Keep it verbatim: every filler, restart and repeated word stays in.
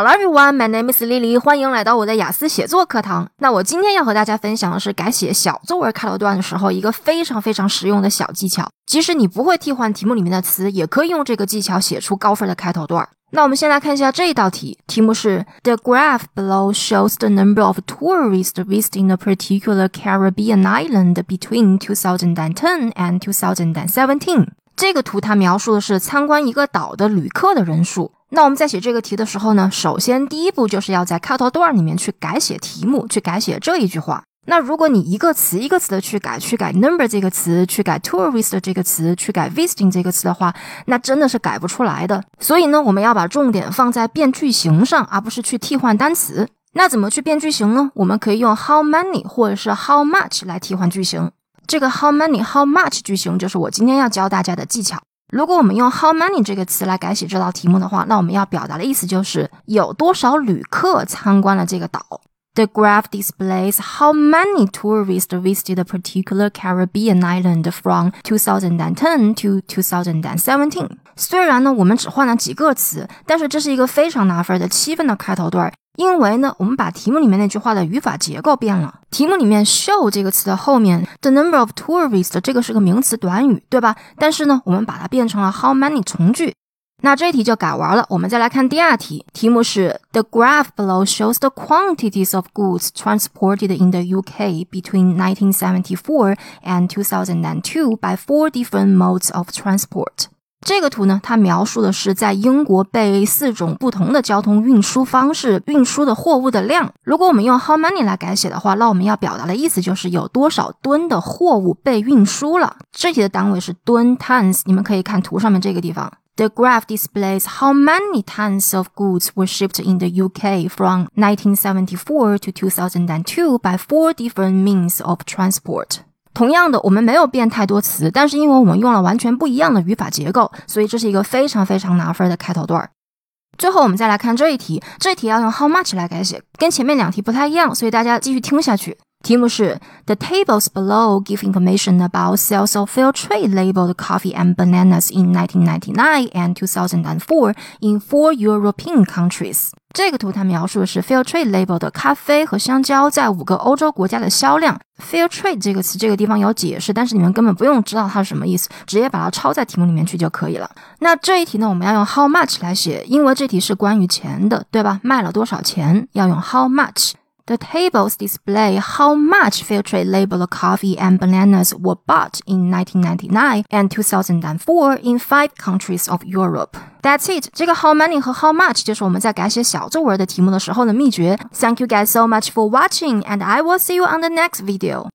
Hello everyone, my name is Lily， 欢迎来到我的雅思写作课堂。那我今天要和大家分享的是改写小作文开头段的时候一个非常非常实用的小技巧。即使你不会替换题目里面的词，也可以用这个技巧写出高分的开头段。那我们先来看一下这一道题，题目是 The graph below shows the number of tourists visiting a particular Caribbean island between two thousand ten and two thousand seventeen。 这个图它描述的是参观一个岛的旅客的人数。那我们在写这个题的时候呢，首先第一步就是要在开头段里面去改写题目，去改写这一句话。那如果你一个词一个词的去改，去改 number 这个词，去改 tourist 这个词，去改 visiting 这个词的话，那真的是改不出来的。所以呢，我们要把重点放在变句型上，而不是去替换单词。那怎么去变句型呢？我们可以用 how many 或者是 how much 来替换句型。这个 how many how much 句型就是我今天要教大家的技巧。如果我们用 how many 这个词来改写这道题目的话，那我们要表达的意思就是有多少旅客参观了这个岛。The graph displays how many tourists visited a particular Caribbean island from two thousand ten to two thousand seventeen。 虽然呢我们只换了几个词，但是这是一个非常拿分的七分的开头段，因为呢我们把题目里面那句话的语法结构变了。题目里面 show 这个词的后面 the number of tourists 这个是个名词短语，对吧？但是呢我们把它变成了 how many 从句。那这一题就改完了，我们再来看第二题，题目是 The graph below shows the quantities of goods transported in the U K between nineteen seventy-four and two thousand two by four different modes of transport。 这个图呢，它描述的是在英国被四种不同的交通运输方式运输的货物的量。如果我们用 how many 来改写的话，那我们要表达的意思就是有多少吨的货物被运输了。这题的单位是吨 tons， 你们可以看图上面这个地方。The graph displays how many tons of goods were shipped in the U K from nineteen seventy-four to two thousand two by four different means of transport。 同样的，我们没有变太多词，但是因为我们用了完全不一样的语法结构，所以这是一个非常非常拿分的开头段。最后我们再来看这一题，这一题要用 how much 来改写，跟前面两题不太一样，所以大家继续听下去。题目是 The tables below give information about sales of fair trade labeled coffee and bananas in nineteen ninety-nine and two thousand four in four European countries。 这个图它描述的是 fair trade label 的咖啡和香蕉在五个欧洲国家的销量。 fair trade 这个词这个地方有解释，但是你们根本不用知道它是什么意思，直接把它抄在题目里面去就可以了。那这一题呢，我们要用 how much 来写，因为这题是关于钱的，对吧？卖了多少钱，要用 how much。The tables display how much fair trade labeled coffee and bananas were bought in nineteen ninety-nine and two thousand four in five countries of Europe. That's it. 这个 how many 和 how much 就是我们在改写小作文的题目的时候的秘诀。Thank you guys so much for watching and I will see you on the next video.